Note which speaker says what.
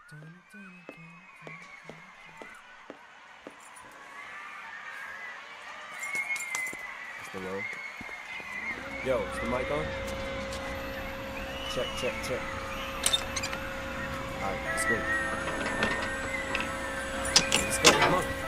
Speaker 1: It's the roll. Yo, is the mic on? Check, check, check. Alright, let's go. Let's go, come on.